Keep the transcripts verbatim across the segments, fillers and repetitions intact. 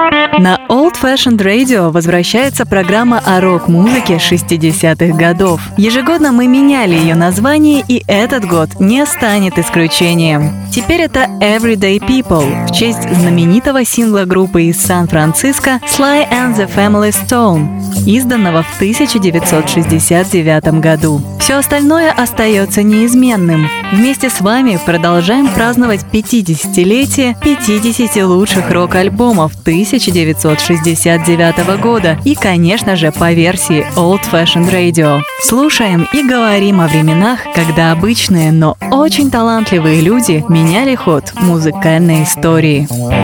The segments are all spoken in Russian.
На Old Fashioned Radio возвращается программа о рок-музыке шестидесятых годов. Ежегодно мы меняли ее название, и этот год не станет исключением. Теперь это Everyday People в честь знаменитого сингла группы из Сан-Франциско Sly and the Family Stone, изданного в тысяча девятьсот шестьдесят девятом году. Все остальное остается неизменным. Вместе с вами продолжаем праздновать пятидесятилетие пятидесяти лучших рок-альбомов тысяча девятьсот шестьдесят девятого года и, конечно же, по версии Old Fashioned Radio. Слушаем и говорим о временах, когда обычные, но очень талантливые люди меняли ход музыкальной истории.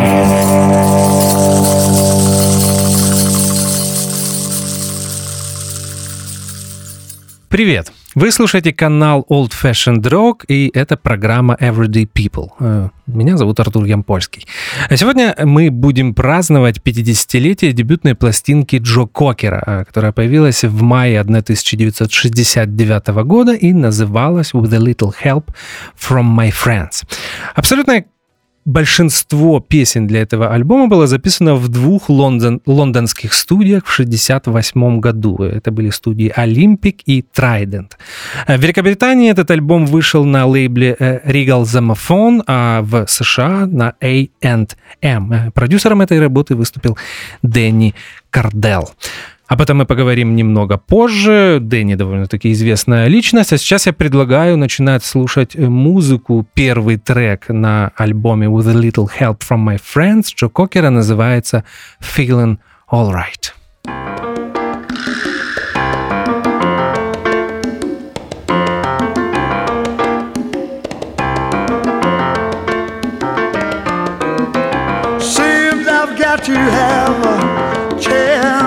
Привет! Вы слушаете канал Old Fashioned Rock, и это программа Everyday People. Меня зовут Артур Ямпольский. Сегодня мы будем праздновать пятидесятилетие дебютной пластинки Джо Кокера, которая появилась в мае тысяча девятьсот шестьдесят девятого года и называлась «With a Little Help from My Friends». Абсолютная Большинство песен для этого альбома было записано в двух лондон, лондонских студиях в шестьдесят восьмом году. Это были студии Olympic и Trident. В Великобритании этот альбом вышел на лейбле Regal Zomophone, а в США на A энд эм. Продюсером этой работы выступил Дэнни Кардел. Об этом мы поговорим немного позже. Дэнни довольно-таки известная личность. А сейчас я предлагаю начинать слушать музыку. Первый трек на альбоме «With a Little Help from My Friends» Джо Кокера называется «Feeling Alright». Seems I've got to have a chance.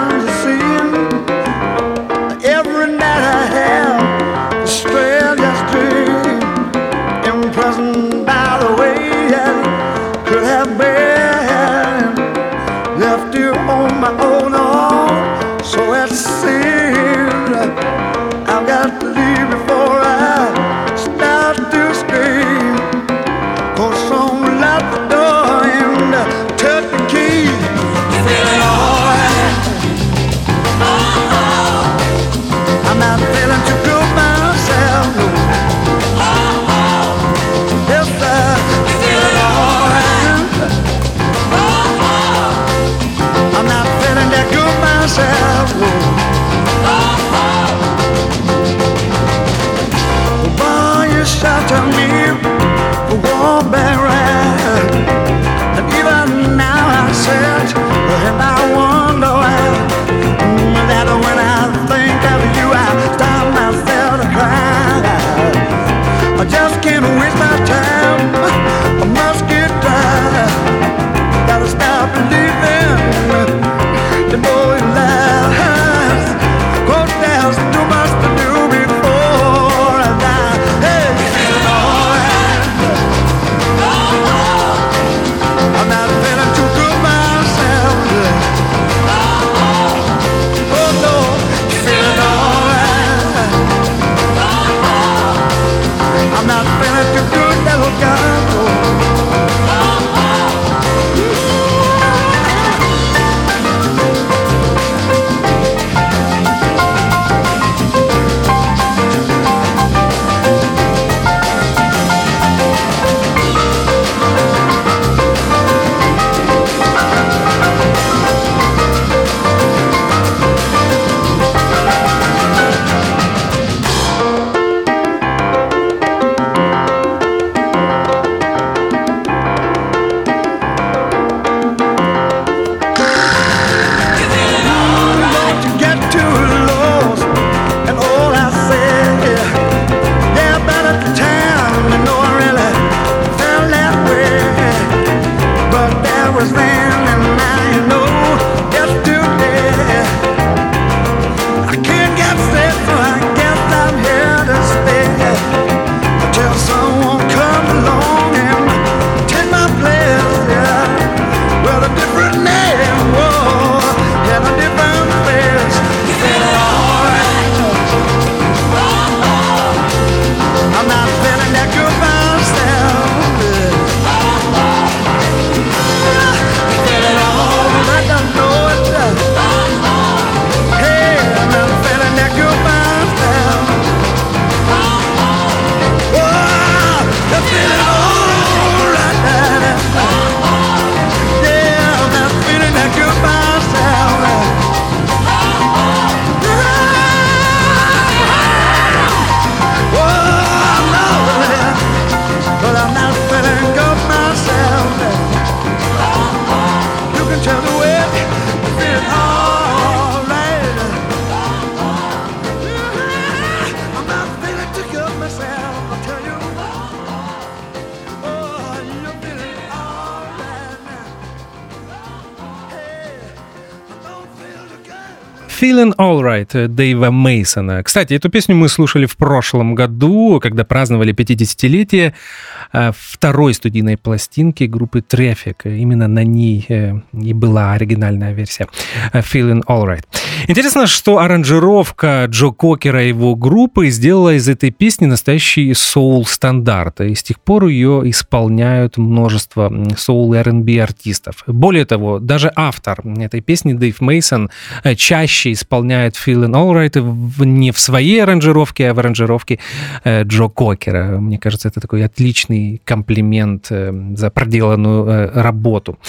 Feeling Alright Дэйва Мейсона. Кстати, эту песню мы слушали в прошлом году, когда праздновали пятидесятилетие второй студийной пластинки группы Traffic. Именно на ней и была оригинальная версия Feeling Alright. Интересно, что аранжировка Джо Кокера и его группы сделала из этой песни настоящий соул-стандарт. И с тех пор ее исполняют множество соул и ар энд би артистов. Более того, даже автор этой песни Дэйв Мейсон чаще исполняет Feeling Alright не в своей аранжировке, а в аранжировке Джо Кокера. Мне кажется, это такой отличный комплимент за проделанную работу.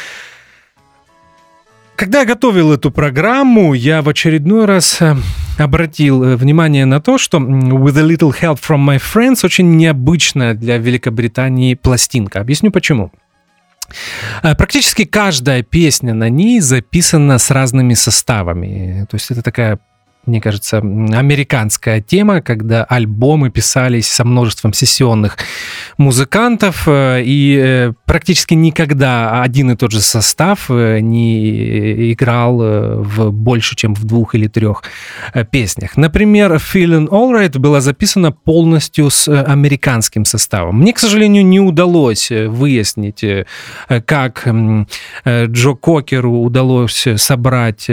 Когда я готовил эту программу, я в очередной раз обратил внимание на то, что «With a little help from my friends» очень необычная для Великобритании пластинка. Объясню почему. Практически каждая песня на ней записана с разными составами. То есть это такая, мне кажется, американская тема, когда альбомы писались со множеством сессионных музыкантов, и практически никогда один и тот же состав не играл в больше, чем в двух или трех песнях. Например, Feeling Alright была записана полностью с американским составом. Мне, к сожалению, не удалось выяснить, как Джо Кокеру удалось собрать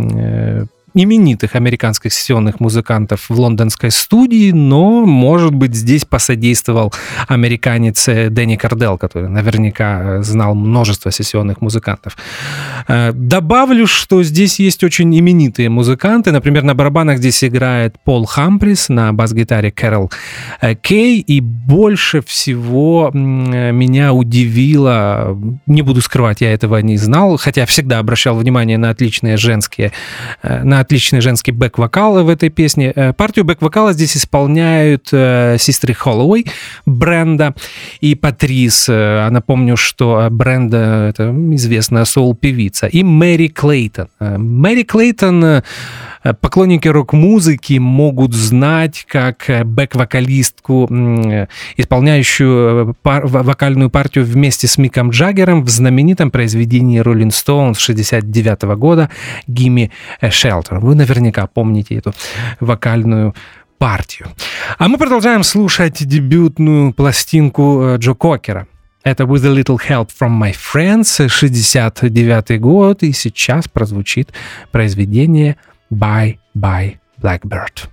именитых американских сессионных музыкантов в лондонской студии, но, может быть, здесь посодействовал американец Дэнни Кардел, который наверняка знал множество сессионных музыкантов. Добавлю, что здесь есть очень именитые музыканты. Например, на барабанах здесь играет Пол Хамприс, на бас-гитаре Кэрол Кей, и больше всего меня удивило, не буду скрывать, я этого не знал, хотя всегда обращал внимание на отличные женские, на отличный женский бэк-вокал в этой песне. Партию бэк-вокала здесь исполняют сестры Холлоуэй, Бренда и Патрис. А напомню, что Бренда — это известная соул-певица. И Мэри Клейтон. Мэри Клейтон поклонники рок-музыки могут знать как бэк-вокалистку, исполняющую пар- вокальную партию вместе с Миком Джаггером в знаменитом произведении Rolling Stones шестьдесят девятого года «Gimme a Shelter». Вы наверняка помните эту вокальную партию. А мы продолжаем слушать дебютную пластинку Джо Кокера. Это «With a little help from my friends», шестьдесят девятый год, и сейчас прозвучит произведение «Bye Bye Blackbird».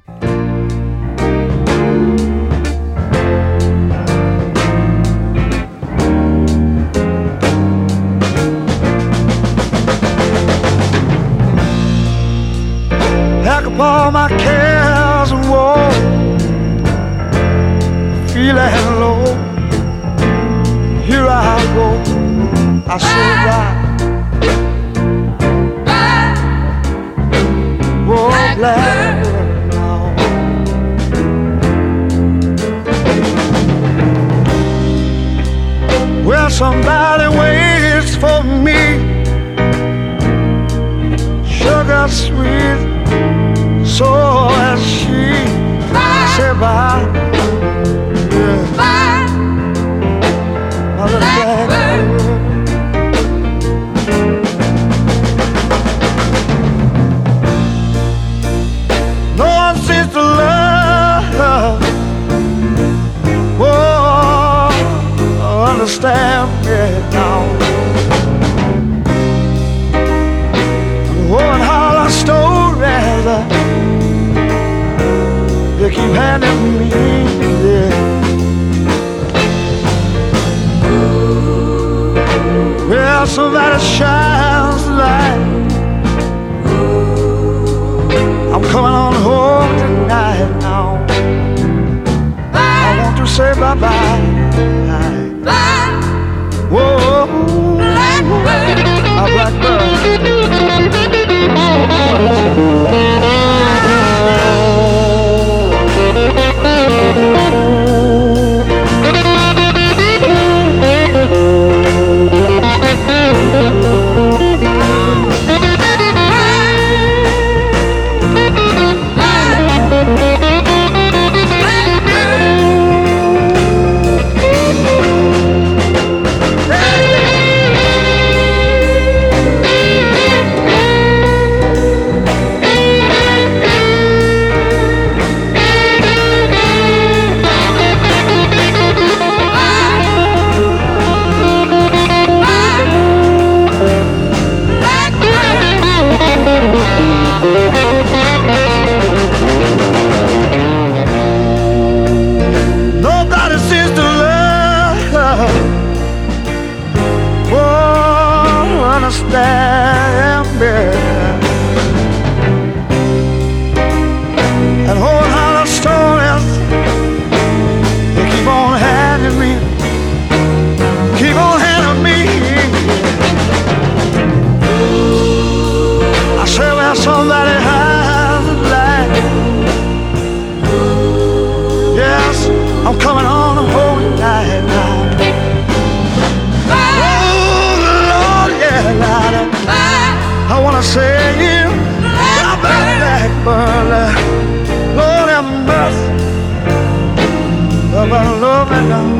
Pack up all my cares and woe, feeling low. Here I go, I say bye. Oh, blackbird now. Well, somebody waits for me, sugar sweet, so as she say bye. Yeah. Bye, blackbird. No one seems to love, oh, understand me now. Oh, and all our stories, uh, they keep handing me, yeah. Well, somebody shines the light. I'm coming on home tonight now. I want to say bye-bye. Bye. Whoa, blackbird. A blackbird. understand me. And whole lot of stories they keep on handing me, keep on handing me. I say well somebody has a light. Yes, I'm coming on a holy night now. I wanna say you, I'm back, but Lord have mercy, but love me now.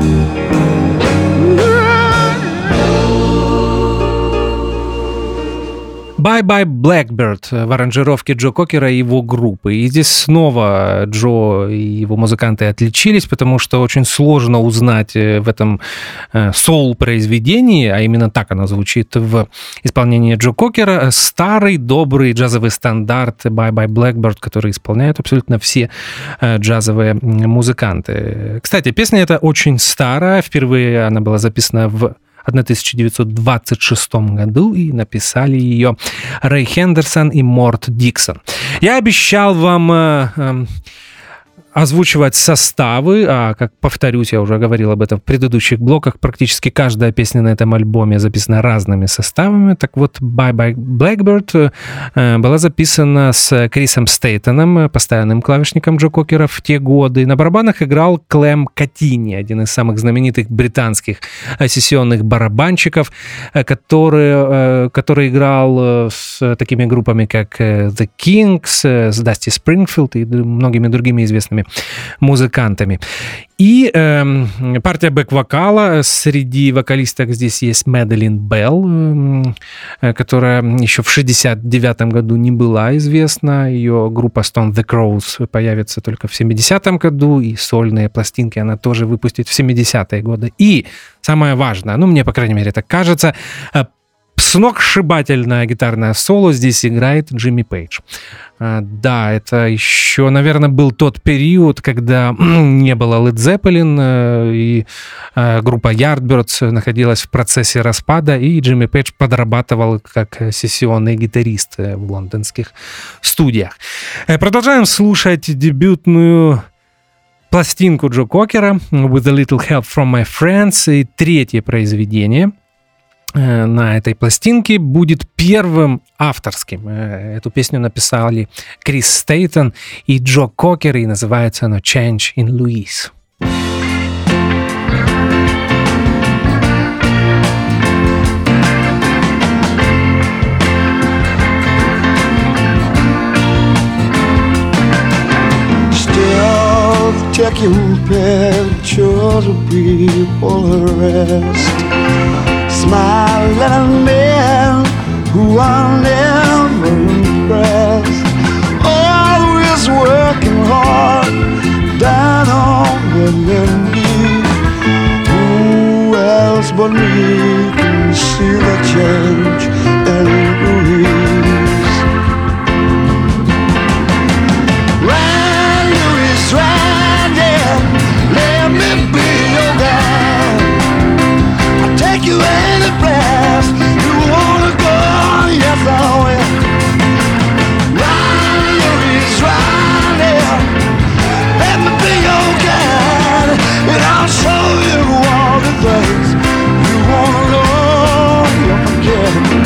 Bye Bye Blackbird в аранжировке Джо Кокера и его группы. И здесь снова Джо и его музыканты отличились, потому что очень сложно узнать в этом соул-произведении, а именно так оно звучит в исполнении Джо Кокера, старый добрый джазовый стандарт Bye Bye Blackbird, который исполняют абсолютно все джазовые музыканты. Кстати, песня эта очень старая. Впервые она была записана в тысяча девятьсот двадцать шестом году, и написали ее Рэй Хендерсон и Морт Диксон. Я обещал вам э, э, озвучивать составы, а, как повторюсь, я уже говорил об этом в предыдущих блоках, практически каждая песня на этом альбоме записана разными составами. Так вот, Bye Bye Blackbird э, была записана с Крисом Стейтоном, постоянным клавишником Джо Кокера в те годы. На барабанах играл Клем Катини, один из самых знаменитых британских сессионных барабанщиков, который, э, который играл с такими группами, как The Kings, с Дасти Спрингфилд и многими другими известными музыкантами. И э, партия бэк-вокала. Среди вокалисток здесь есть Мэдалин Белл, э, которая еще в шестьдесят девятом году не была известна. Ее группа Stone the Crows появится только в семидесятом году, и сольные пластинки она тоже выпустит в семидесятые годы. И самое важное, ну, мне, по крайней мере, так кажется, сногсшибательное гитарное соло здесь играет Джимми Пейдж. Да, это еще, наверное, был тот период, когда не было Led Zeppelin, и группа Yardbirds находилась в процессе распада, и Джимми Пейдж подрабатывал как сессионный гитарист в лондонских студиях. Продолжаем слушать дебютную пластинку Джо Кокера «With a Little Help from My Friends», и третье произведение на этой пластинке будет первым авторским. Эту песню написали Крис Стейтон и Джо Кокер, и называется она «Change in Louise». Still taking pictures of people arrest, smiling men who are never impressed, always working hard, down on their knees. Who else but me can see the change in Louise? Run, Louise, run, yeah, let me be your guide. I'll take you any place you wanna go, yes I will. Run, Louise, run, yeah, let me be your guide, and I'll show you all the things you wanna know, you'll forget.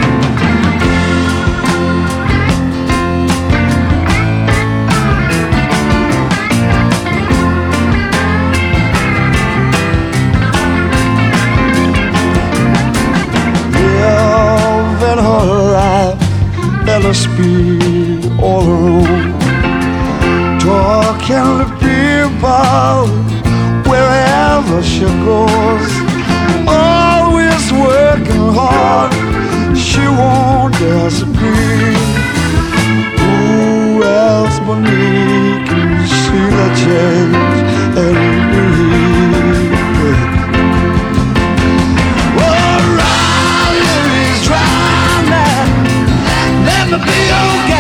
Let us be all alone, talking to people wherever she goes, always working hard, she won't disagree. Who else but me can see the change in me? Oh, Riley's driving, let me be your guy.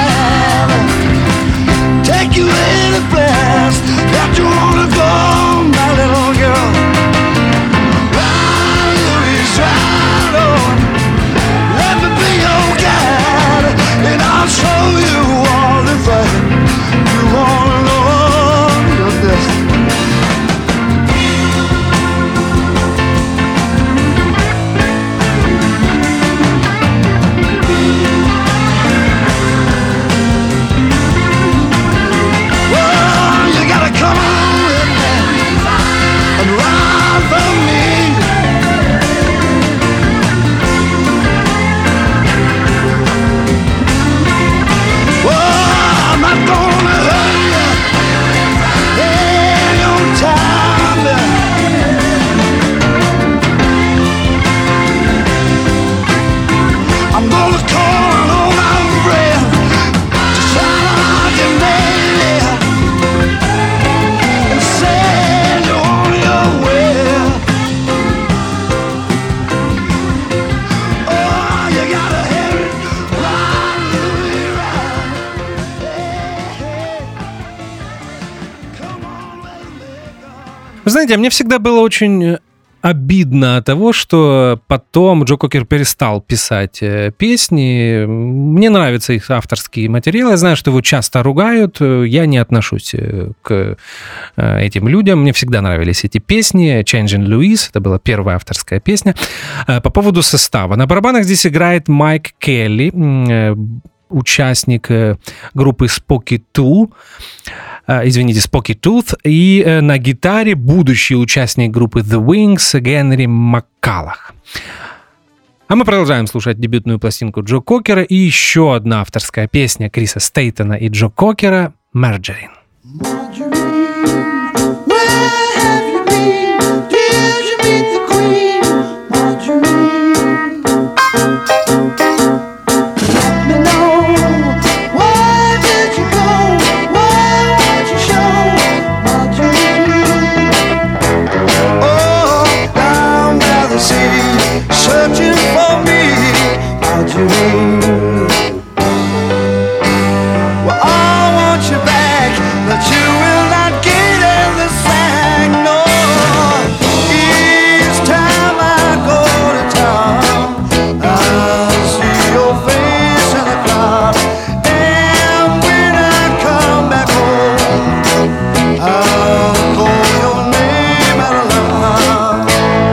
знаете, мне всегда было очень обидно от того, что потом Джо Кокер перестал писать песни. Мне нравятся их авторские материалы. Я знаю, что его часто ругают. Я не отношусь к этим людям. Мне всегда нравились эти песни. Changing Louise, это была первая авторская песня. По поводу состава. На барабанах здесь играет Майк Келли, участник группы Spooky Tooth. Извините, Spooky Tooth, и на гитаре будущий участник группы The Wings Генри Маккаллах. А мы продолжаем слушать дебютную пластинку Джо Кокера и еще одна авторская песня Криса Стейтона и Джо Кокера «Margarine». Well, I want you back, but you will not get in the sack, no. Each time I go to town, I see your face in the crowd. And when I come back home, I'll call your name out loud.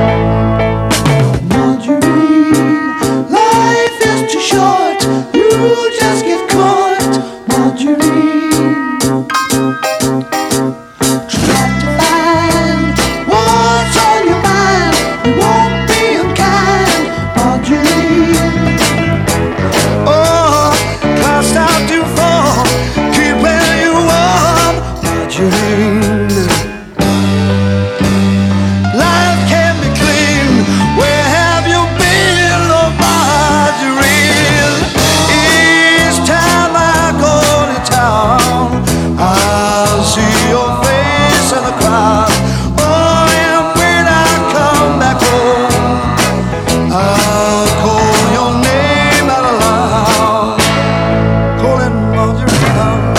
Margarine, life is too short. You just get caught, Margarine. Try to find what's on your mind. You won't be unkind, Margarine. Oh, cast out to fall, keeping you warm, Margarine. Life can be clean. Where have you been, oh Margarine? Each time I go to town, I'll see your face in the crowd. Oh, and when I come back home, I'll call your name out loud. Calling Margarine.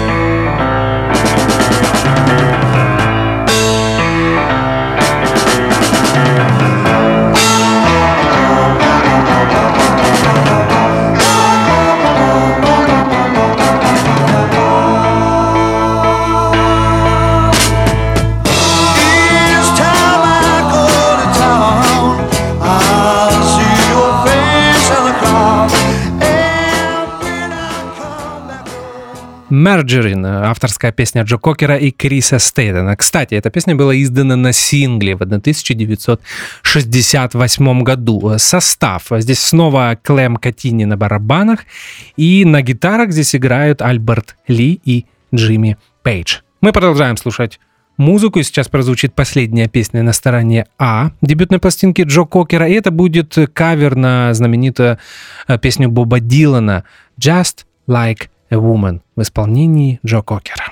Each time I go to town, I'll see your face in the crowd. And when I come back home. «Margarine» — авторская песня Джо Кокера и Криса Стейтона. Кстати, эта песня была издана на сингле в тысяча девятьсот шестьдесят восьмом году. Состав. Здесь снова Клем Катини на барабанах, и на гитарах здесь играют Альберт Ли и Джимми Пейдж. Мы продолжаем слушать музыку, и сейчас прозвучит последняя песня на стороне А дебютной пластинки Джо Кокера, и это будет кавер на знаменитую песню Боба Дилана «Just Like a Woman» в исполнении Джо Кокера.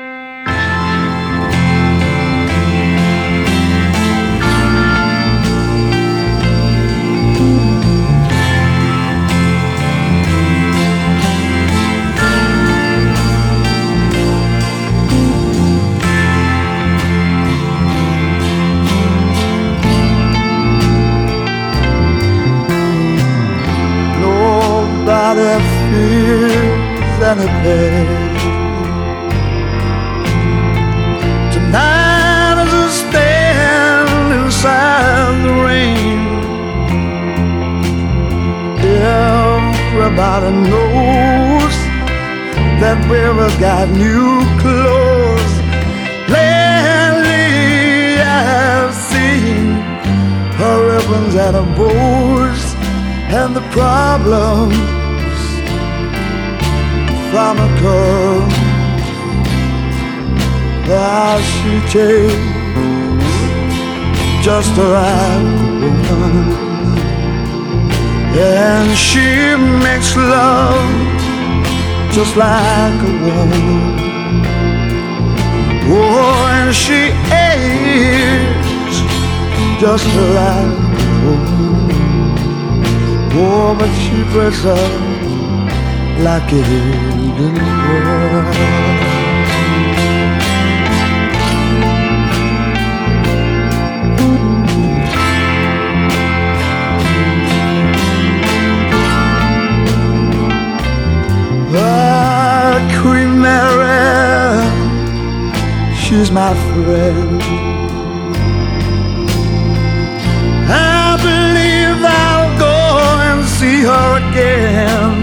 Nobody feels any pain. Tonight as I stand inside the rain, everybody knows that we've got new clothes. Lately I've seen her ribbons and her bows, and the problems from a girl that she takes just a right woman, and she makes love just like a woman. Oh, and she is just like a woman. Oh, but she dresses up like it is in the world. she's my friend. I believe I'll go and see her again.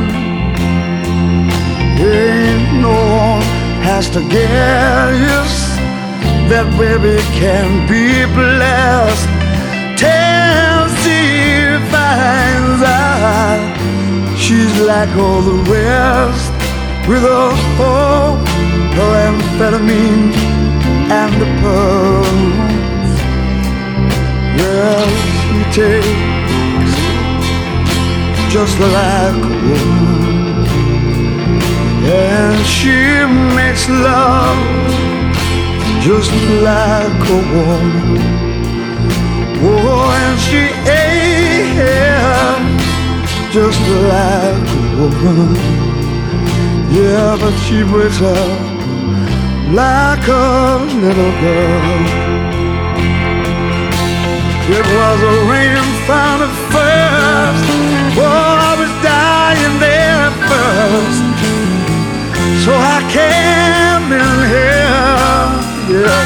Ain't no one has to guess that baby can be blessed till she finds out she's like all the rest, with her hope, her amphetamine and the pearls. Well, she takes just like a woman, and she makes love just like a woman. Oh, and she ain't just like a woman. Yeah, but she breaks up like a little girl. It was a rain found at first. Oh, I was dying there at first, so I came in here, yeah.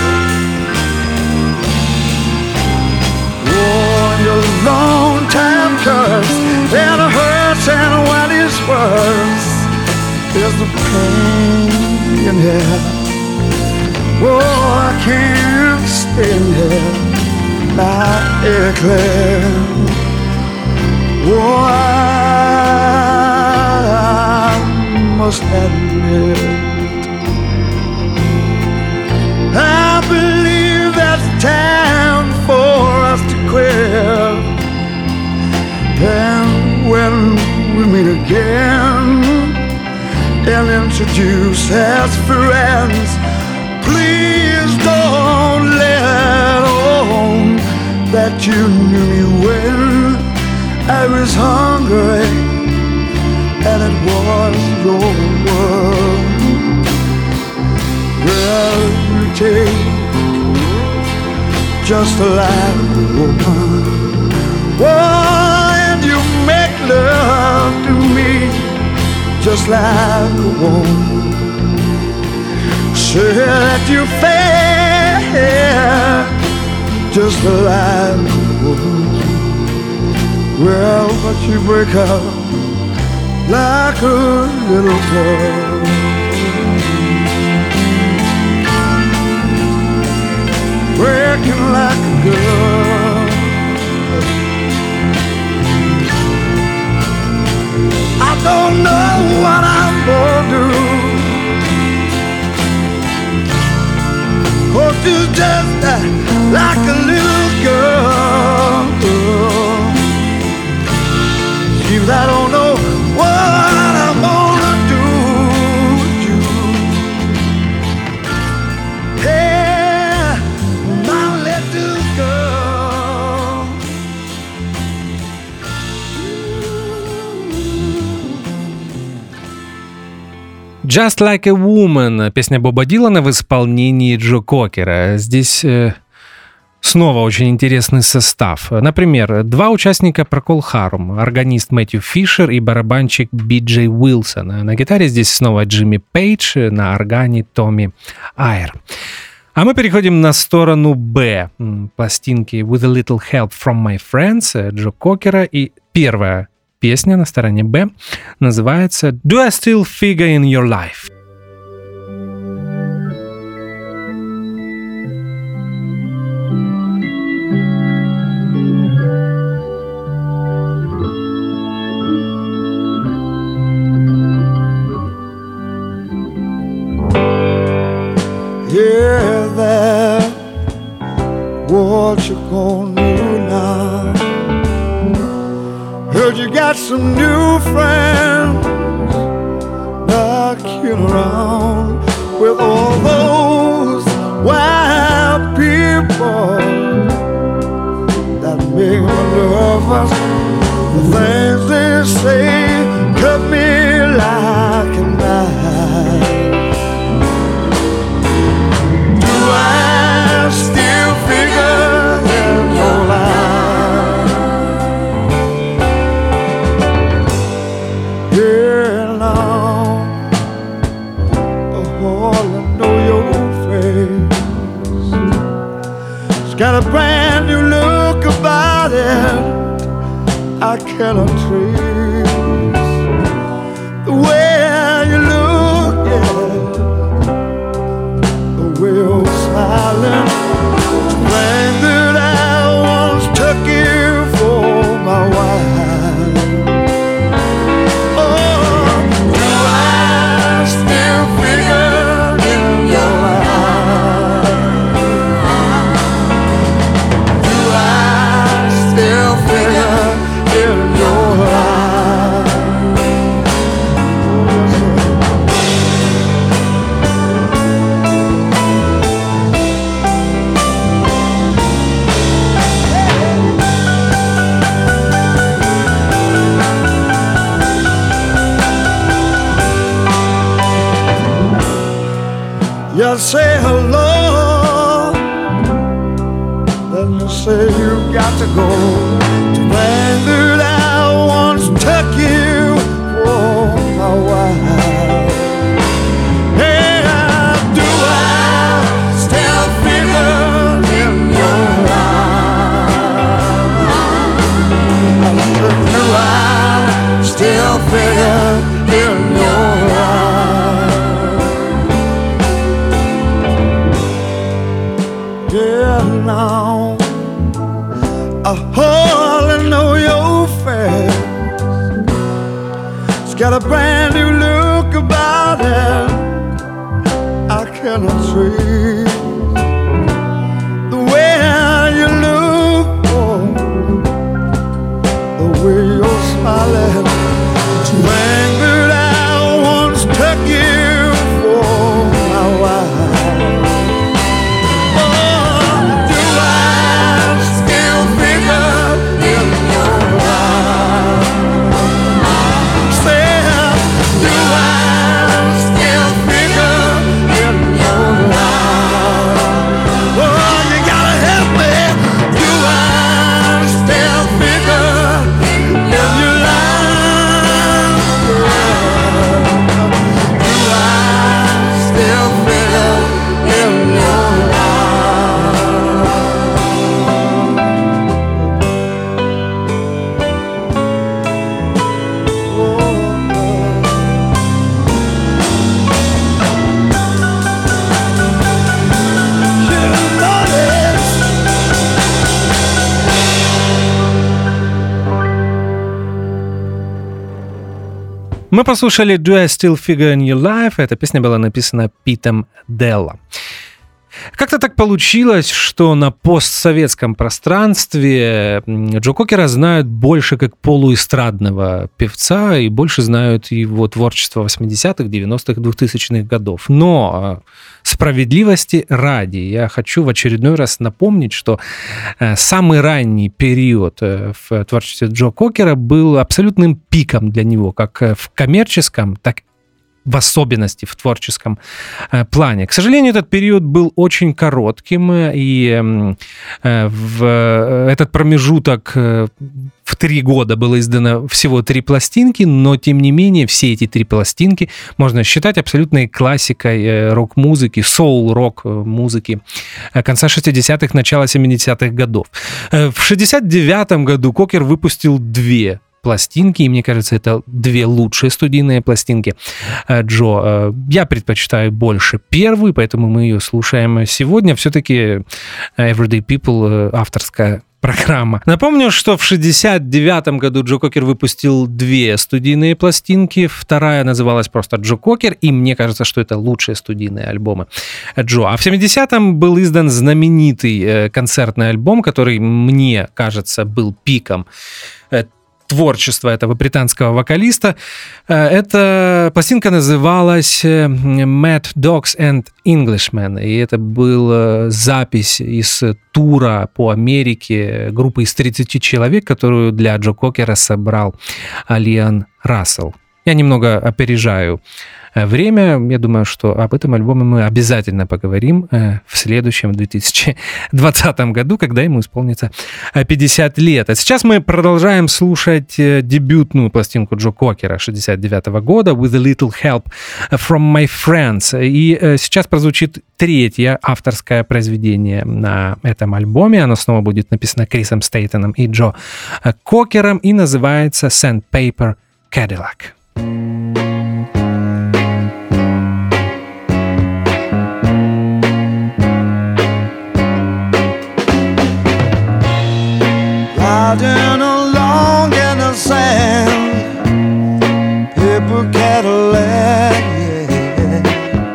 Oh, your long time curse, and it hurts, and what is worse is the pain in here. Oh, I can't stand here, not Eclair. Oh, I must admit, I believe that's time for us to quit. And when we meet again and introduce as friends, please don't let on that you knew me when I was hungry and it was your world. Well, you take just like a woman, oh, and you make love to me just like a woman. Say that you fair just like a woman. Well, but you break up like a little girl. Breaking like a girl. I don't know what I'm gonna do, 'cause you're just like a little girl. Seems I don't know what I'm gonna do with you. Hey, my little girl. Just Like a Woman, песня Боба Дилана в исполнении Джо Кокера. Здесь э, снова очень интересный состав. Например, два участника Procol Harum, органист Мэтью Фишер и барабанщик Би Джей Уилсон. На гитаре здесь снова Джимми Пейдж, на органе Томми Айр. А мы переходим на сторону Б пластинки With a Little Help from My Friends Джо Кокера. И первая песня на стороне Б называется Do I Still Figure in Your Life? Yeah, that what you gonna do now? Heard you got some new friends knocking around with all those wild people that make me nervous. The things they say cut me like a knife. Do I still figure in your life? Yeah, now, oh, I know your face. cannot trace the way you look, yeah, the way you're smiling, the way that I once took you for my wife. Oh, do I still figure in your life? Do I still figure in your life? You say hello, then you say you got to go to find that I once took you for my wife. Yeah, do I still figure in your life? I said, do I still figure in your life? Yeah, now I hardly know your face. It's got a brand new look about it I cannot trace the way you look, oh, the way you're smiling, the way that I once took you for my wife. Мы послушали «Do I Still Figure in Your Life». Эта песня была написана Питом Делло. Как-то так получилось, что на постсоветском пространстве Джо Кокера знают больше как полуэстрадного певца и больше знают его творчество восьмидесятых, девяностых, двухтысячных годов. Но справедливости ради я хочу в очередной раз напомнить, что самый ранний период в творчестве Джо Кокера был абсолютным пиком для него, как в коммерческом, так и в особенности в творческом э, плане. К сожалению, этот период был очень коротким, и э, в этот промежуток э, в три года было издано всего три пластинки, но, тем не менее, все эти три пластинки можно считать абсолютной классикой э, рок-музыки, соул-рок музыки э, конца шестидесятых, начала семидесятых годов. Э, в шестьдесят девятом году Кокер выпустил две пластинки, и мне кажется, это две лучшие студийные пластинки Джо. Я предпочитаю больше первую, поэтому мы ее слушаем сегодня. Все-таки Everyday People авторская программа. Напомню, что в шестьдесят девятом году Джо Кокер выпустил две студийные пластинки. Вторая называлась просто «Джо Кокер», и мне кажется, что это лучшие студийные альбомы Джо. А в семидесятом был издан знаменитый концертный альбом, который, мне кажется, был пиком творчества этого британского вокалиста. Эта пластинка называлась Mad Dogs and Englishmen, и это была запись из тура по Америке группы из тридцати человек, которую для Джо Кокера собрал Лиам Рассел. Я немного опережаю время. Я думаю, что об этом альбоме мы обязательно поговорим в следующем две тысячи двадцатом году, когда ему исполнится пятьдесят лет. А сейчас мы продолжаем слушать дебютную пластинку Джо Кокера шестьдесят девятого года «With a Little Help from My Friends». И сейчас прозвучит третье авторское произведение на этом альбоме. Оно снова будет написано Крисом Стейтоном и Джо Кокером и называется «Sandpaper Cadillac». Riding along in the sand, paper Cadillac, yeah.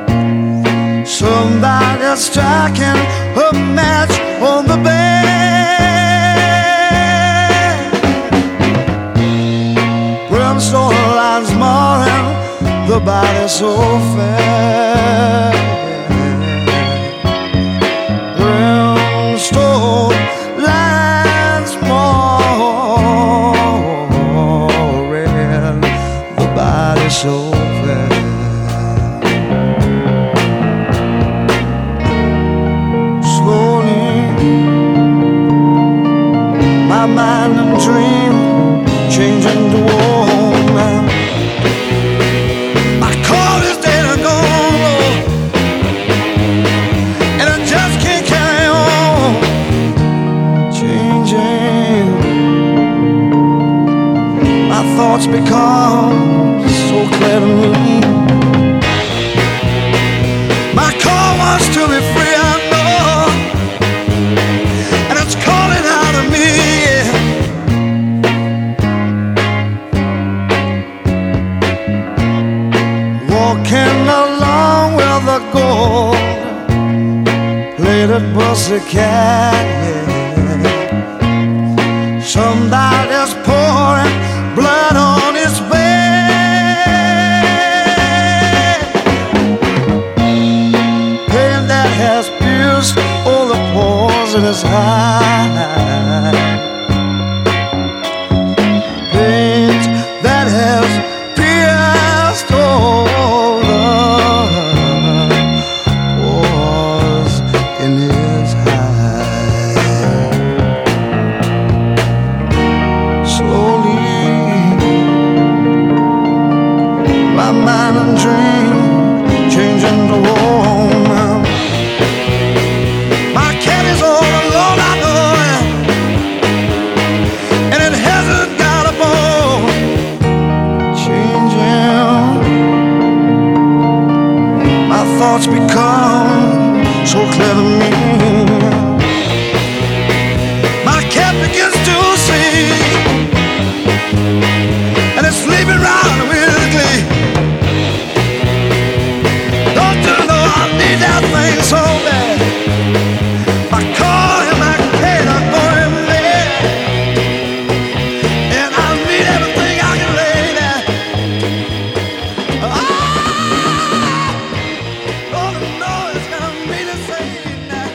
Somebody's striking a match on the bed. Brimstone lines marring the body so fair. Brimstone lines marring the body so fair. Slowly, my mind and dream changing to woman. My car is dead and gone, Lord, and I just can't carry on. Changing, my thoughts become so clear to me. My car wants to be free, I know, and it's calling out of me, yeah. Walking along with a gold-plated pussycat, yeah. Somebody's pouring blood on his bed. Pain that has pierced all the pores in his heart. Pain that has pierced all the pores in his heart. Slowly, my mind and dream changing to woman. My cat is all alone, I know it, and it hasn't got a bone. Changing, my thoughts become so clear to me. My cat begins to sing, and it's sleeping round weirdly. Don't you know I need that thing so bad? My car and my cat are going mad, and I need everything I can lay there. Ah, oh no, it's gonna mean the same now.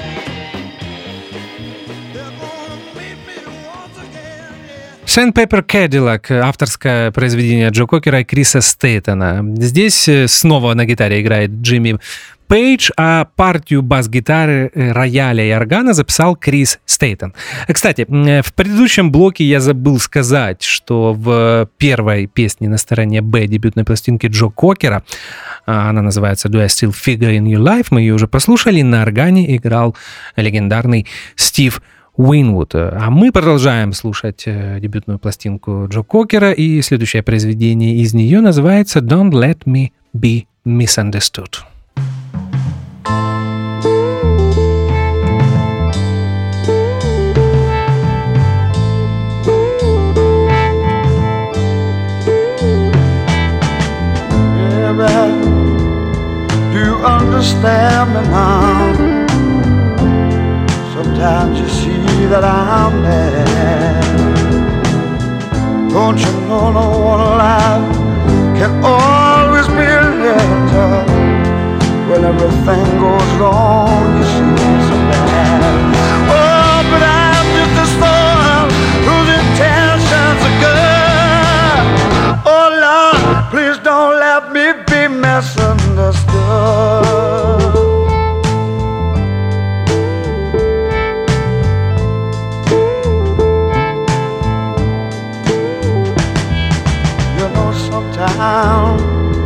They're gonna meet me once again, yeah. Sandpaper Cadillac, авторское произведение Джо Кокера и Криса Стейтона. Здесь снова на гитаре играет Джимми Пейдж, а партию бас-гитары, рояля и органа записал Крис Стейтон. Кстати, в предыдущем блоке я забыл сказать, что в первой песне на стороне Б дебютной пластинки Джо Кокера, она называется «Do I Still Figure in Your Life», мы ее уже послушали, на органе играл легендарный Стив Уинвуд. А мы продолжаем слушать дебютную пластинку Джо Кокера, и следующее произведение из нее называется «Don't Let Me Be Misunderstood». Do you understand me now? Sometimes you see that I'm mad. Don't you know no one alive can always be better? When everything goes wrong, you see so bad. Oh, but I'm just a storm whose intentions are good. Oh Lord, please town.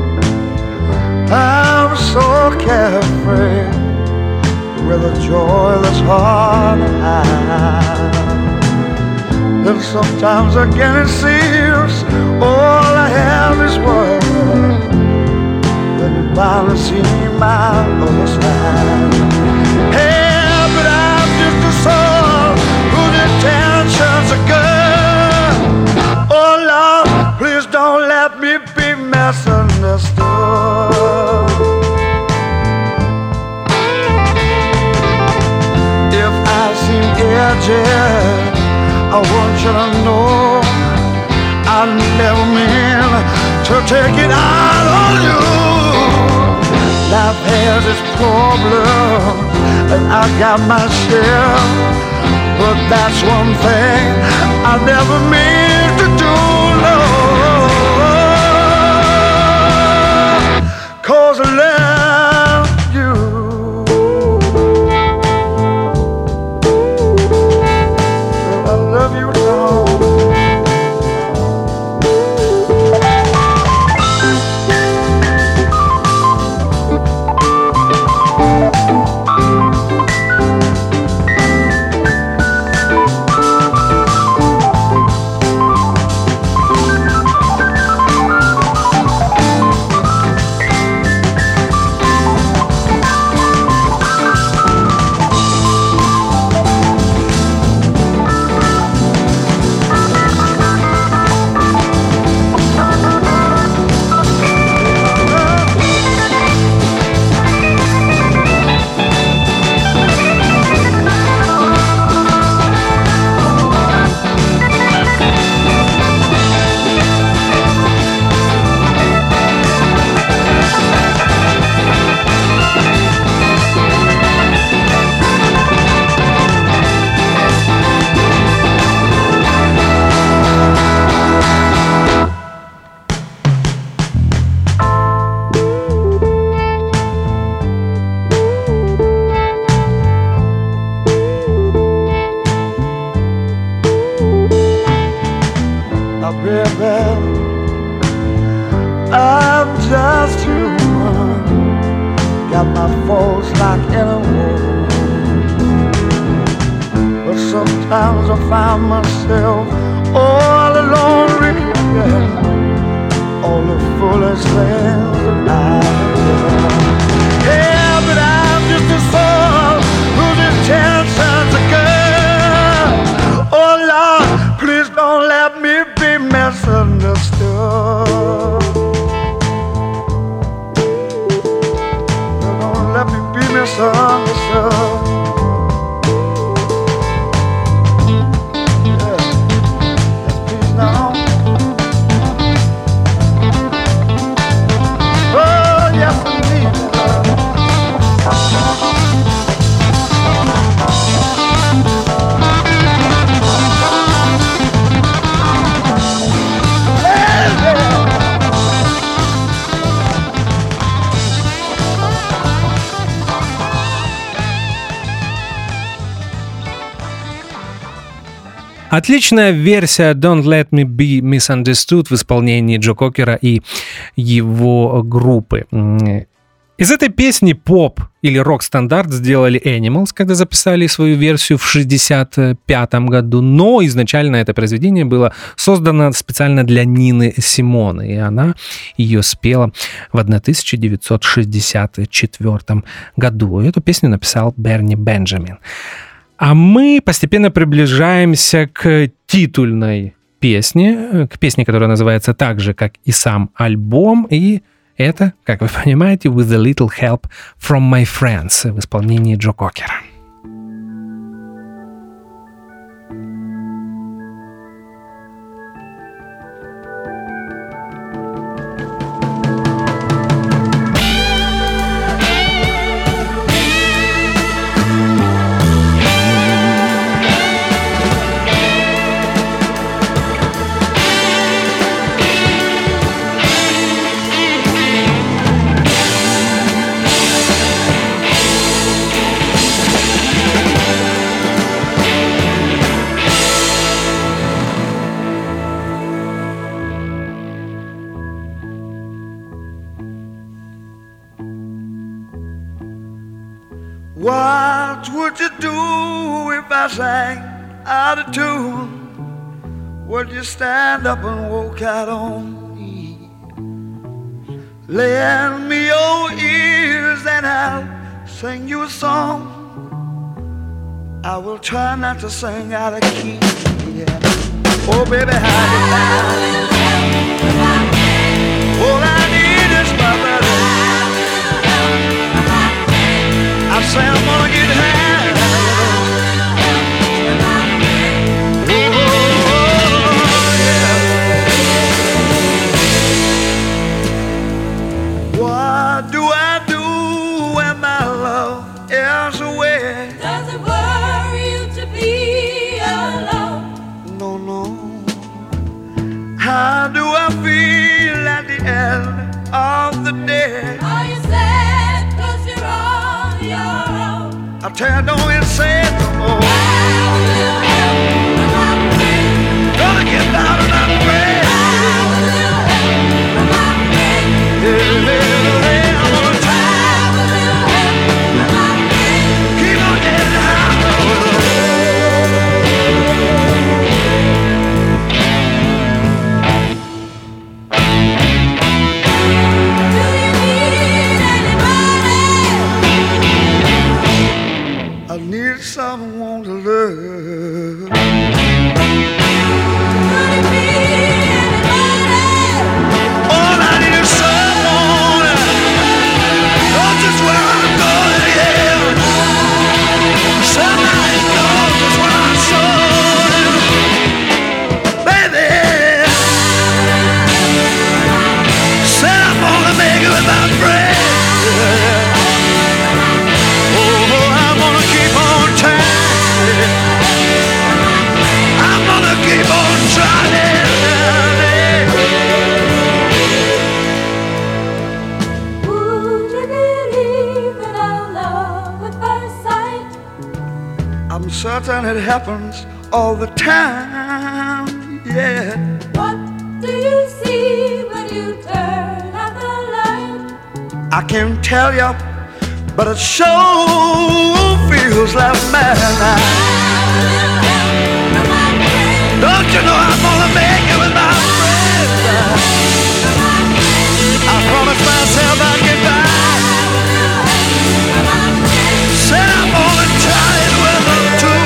I'm so carefree with a joy that's hard to hide. And sometimes again it seems all I have is words. Then you finally see my other side. Hey, but I'm just a soul whose intentions are good. Oh Lord, please don't let me be misunderstood. If I seem edgy, I want you to know I never mean to take it out on you. Life has its problems, and I got my share. But that's one thing I never mean to do, no. 'Cause I love you. I love you, Lord. I'm just human, got my faults like anyone. But sometimes I find myself all alone regretting all the foolish things that I've done. Yeah, but I'm just a soul whose intentions are good. Oh Lord, please don't let me be misunderstood. Don't let me be misunderstood. Yeah, yes, please now. Oh, yes, indeed. Отличная версия Don't Let Me Be Misunderstood в исполнении Джо Кокера и его группы. Из этой песни поп или рок-стандарт сделали Animals, когда записали свою версию в шестьдесят пятом году, но изначально это произведение было создано специально для Нины Симоне, и она ее спела в тысяча девятьсот шестьдесят четвёртом году. Эту песню написал Берни Бенджамин. А мы постепенно приближаемся к титульной песне, к песне, которая называется так же, как и сам альбом, и это, как вы понимаете, With a Little Help from My Friends в исполнении Джо Кокера. What would you do if I sang out of tune? Would you stand up and walk out on me? Lend me your ears and I'll sing you a song. I will try not to sing out of key. Yeah. Oh, baby, how you like? All I need is my baby. I say I'm gonna get high. Oh, yeah. What do I do when my love is away? Does it worry you to be alone? No, no. How do I feel at the end of the day? Are you sad cause you're on your own? I tell you, don't even say it no more. Gonna get out of my way. Yeah, yeah, yeah, I'm gonna try. Keep on getting high. I need someone to love. All I need is someone. Know just where I'm going, yeah. Somebody knows just where I'm going, baby. Said I'm gonna make it with my friend. Oh, I'm gonna keep on trying. I'm gonna keep on trying. Would you believe in our love at first sight? I'm certain it happens all the time, yeah. What do you see when you turn out the light? I can't tell you, but it sure feels like madness. Don't you know I'm gonna make it with my friends? I promised myself I'd get back. Said I'm gonna try it with them too.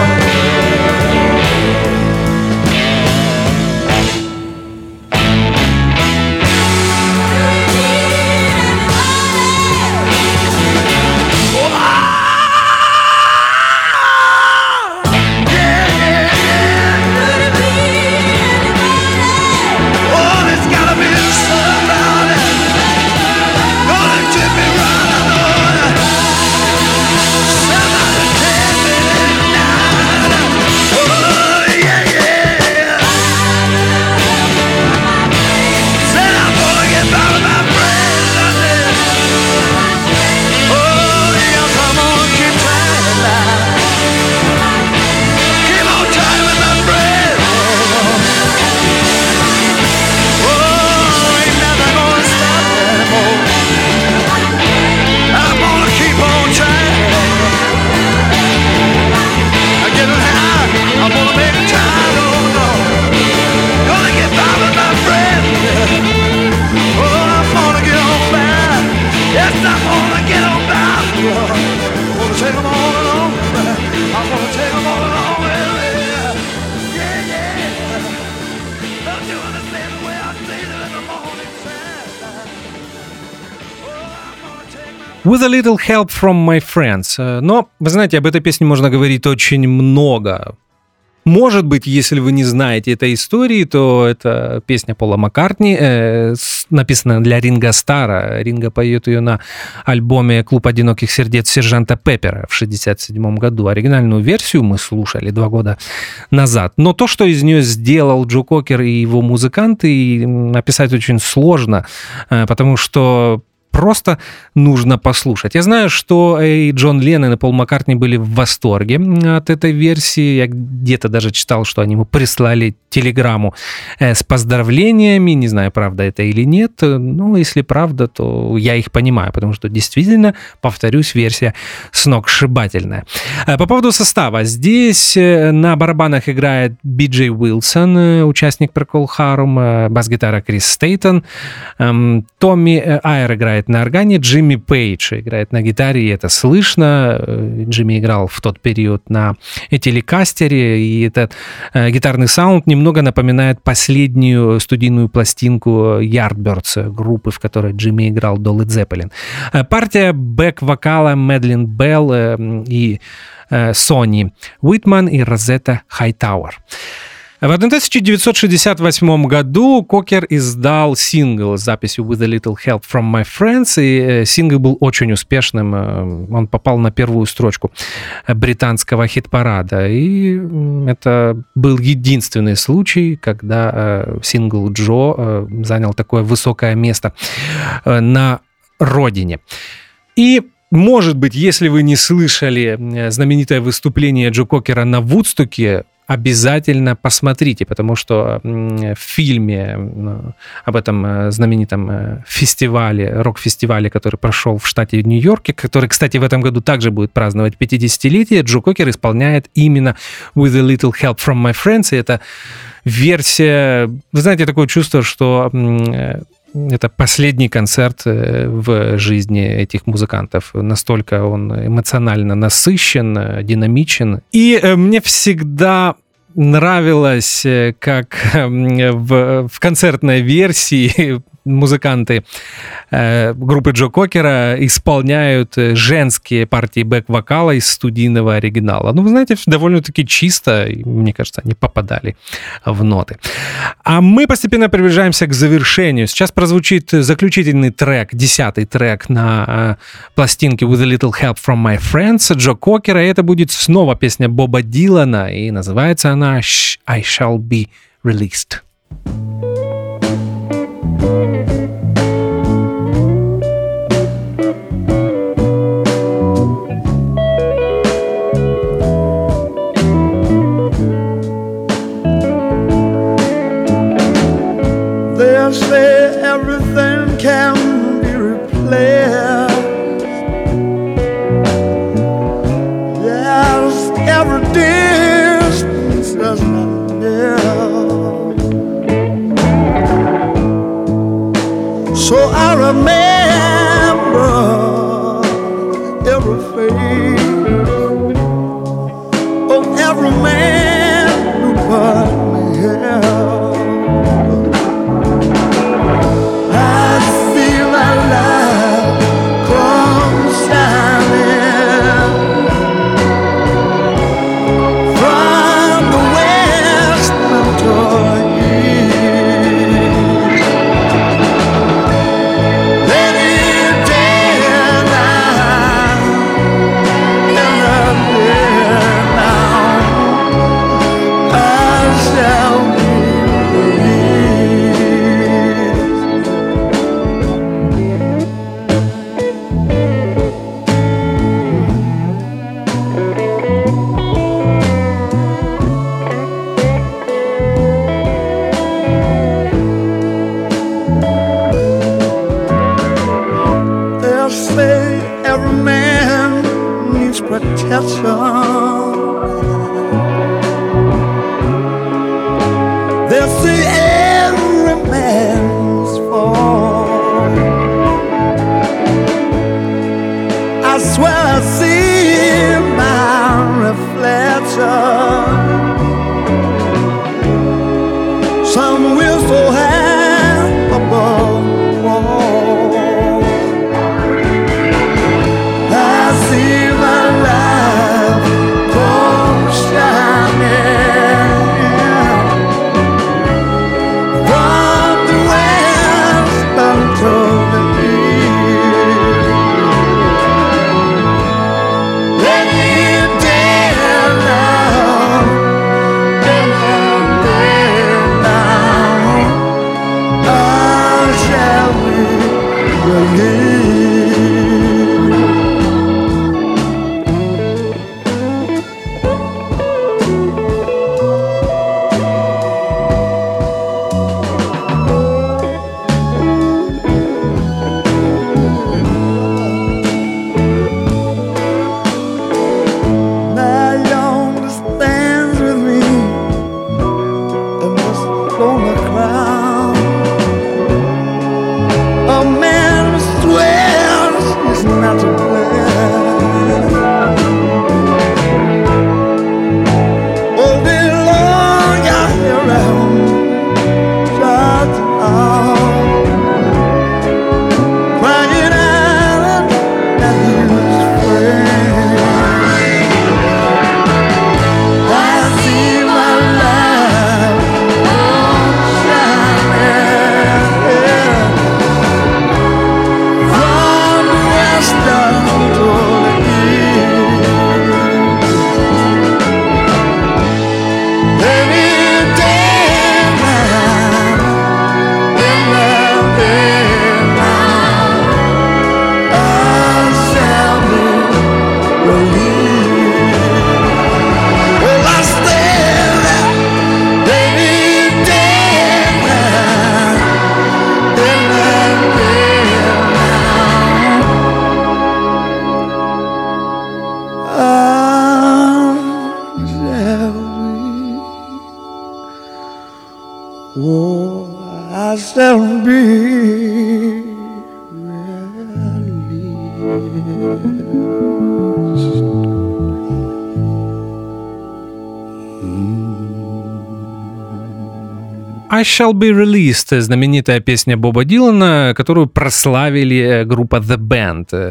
With a little help from my friends. Но, вы знаете, об этой песне можно говорить очень много. Может быть, если вы не знаете этой истории, то это песня Пола Маккартни, э, написанная для Ринго Старра. Ринго поет ее на альбоме «Клуб одиноких сердец» сержанта Пеппера в шестьдесят седьмом году. Оригинальную версию мы слушали два года назад. Но то, что из нее сделал Джо Кокер и его музыканты, написать очень сложно, э, потому что просто нужно послушать. Я знаю, что и Джон Леннон, и Пол Маккартни были в восторге от этой версии. Я где-то даже читал, что они ему прислали телеграмму с поздравлениями. Не знаю, правда это или нет. Ну, если правда, то я их понимаю, потому что действительно, повторюсь, версия сногсшибательная. По поводу состава. Здесь на барабанах играет Би Джей Уилсон, участник Procol Harum, бас-гитара Крис Стейтон, Томми Айр играет на органе, Джимми Пейдж играет на гитаре, и это слышно. Джимми играл в тот период на телекастере, и этот гитарный саунд немного напоминает последнюю студийную пластинку Yardbirds, группы, в которой Джимми играл до Led Zeppelin. Партия бэк-вокала Мэдлин Белл и Сони Уитман и Розетта Хайтауэр. В тысяча девятьсот шестьдесят восьмом году Кокер издал сингл с записью «With a little help from my friends», и сингл был очень успешным. Он попал на первую строчку британского хит-парада. И это был единственный случай, когда сингл «Джо» занял такое высокое место на родине. И может быть, если вы не слышали знаменитое выступление Джо Кокера на Вудстоке, обязательно посмотрите, потому что в фильме об этом знаменитом фестивале, рок-фестивале, который прошел в штате Нью-Йорке, который, кстати, в этом году также будет праздновать пятидесятилетие, Джо Кокер исполняет именно «With a little help from my friends», и это версия... Вы знаете, такое чувство, что... Это последний концерт в жизни этих музыкантов. Настолько он эмоционально насыщен, динамичен. И мне всегда нравилось, как в, в концертной версии музыканты э, группы Джо Кокера исполняют женские партии бэк-вокала из студийного оригинала. Ну, вы знаете, довольно-таки чисто, и, мне кажется, они попадали в ноты. А мы постепенно приближаемся к завершению. Сейчас прозвучит заключительный трек, десятый трек на э, пластинке «With a little help from my friends» Джо Кокера, и это будет снова песня Боба Дилана, и называется она «I shall be released». They'll say everything can be replaced. Yes, every distance does not near. So I remember every face of every man who put me here. I feel my life come shining from the west until protection. They'll see every man's fall. I swear I see my reflection. Some will so high above the wall. I see my life come shining from the west until the east. Any day now, any day now, I shall be released. I Shall Be Released, знаменитая песня Боба Дилана, которую прославили группа The Band.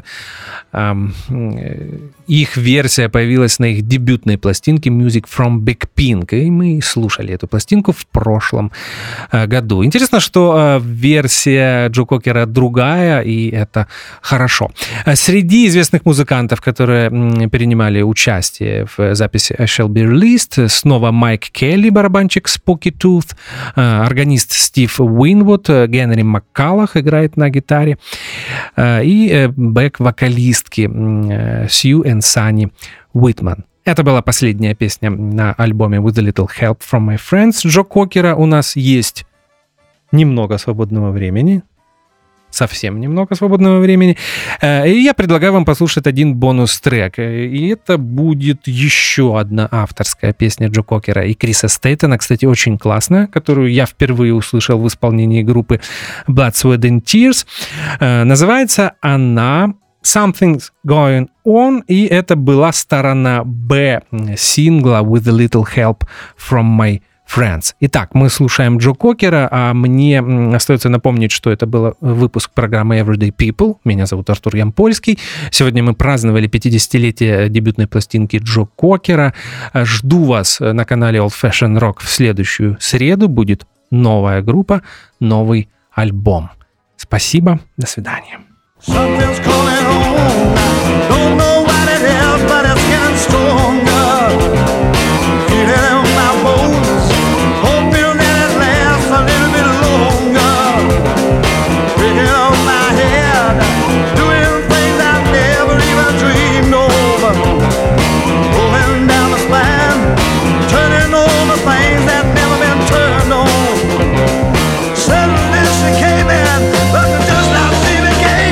Их версия появилась на их дебютной пластинке Music from Big Pink, и мы слушали эту пластинку в прошлом году. Интересно, что версия Джо Кокера другая, и это хорошо. Среди известных музыкантов, которые принимали участие в записи I Shall Be Released, снова Майк Келли, барабанщик Spooky Tooth, органист Стив Уинвуд, Генри Маккаллах играет на гитаре, и бэк-вокалистки Сью и Санни Уитман. Это была последняя песня на альбоме With a Little Help from My Friends Джо Кокера. У нас есть немного свободного времени. Совсем немного свободного времени. И я предлагаю вам послушать один бонус-трек. И это будет еще одна авторская песня Джо Кокера и Криса Стейтона, кстати, очень классная, которую я впервые услышал в исполнении группы Blood, Sweat and Tears. Называется она Something's Going On, и это была сторона Б сингла With a Little Help from My Friends. Итак, мы слушаем Джо Кокера, а мне остается напомнить, что это был выпуск программы Everyday People. Меня зовут Артур Ямпольский. Сегодня мы праздновали пятидесятилетие дебютной пластинки Джо Кокера. Жду вас на канале Old Fashioned Rock в следующую среду. Будет новая группа, новый альбом. Спасибо, до свидания. Something's coming on. Don't know what it is, but it's getting stronger. Feel it in my bones. Hoping that it lasts a little bit longer. Picking up my head, doing things I've never even dreamed of. Going down the spine, turning over things that never been turned on. Suddenly she came in, but just not see me came.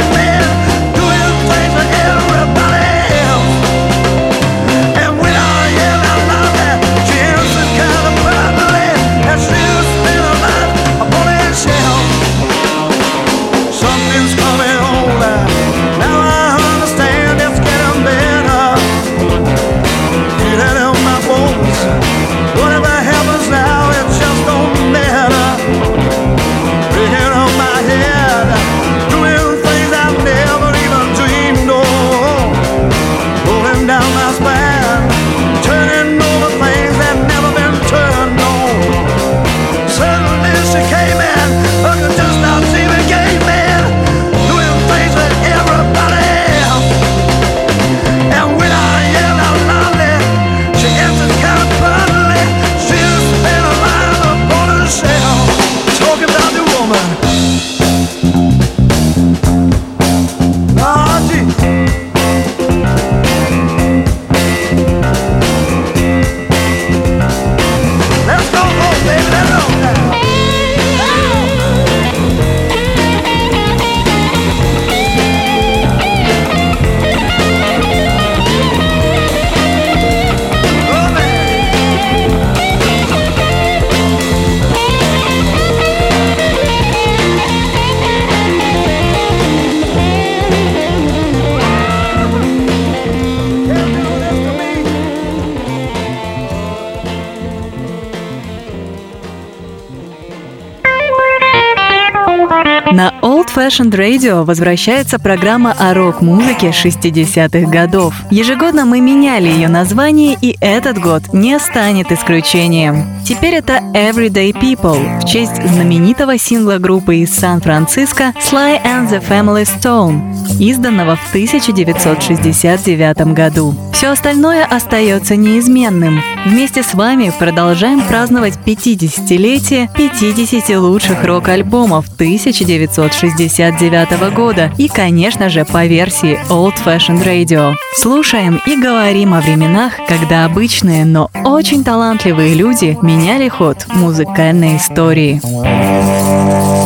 На Old Fashioned Radio возвращается программа о рок-музыке шестидесятых годов. Ежегодно мы меняли ее название, и этот год не станет исключением. Теперь это Everyday People в честь знаменитого сингла группы из Сан-Франциско Sly and the Family Stone, изданного в тысяча девятьсот шестьдесят девятом году. Все остальное остается неизменным. Вместе с вами продолжаем праздновать пятидесятилетие пятидесяти лучших рок-альбомов тысяча девятьсот шестьдесят девятого года и, конечно же, по версии Old Fashioned Radio. Слушаем и говорим о временах, когда обычные, но очень талантливые люди меняли ход музыкальной истории.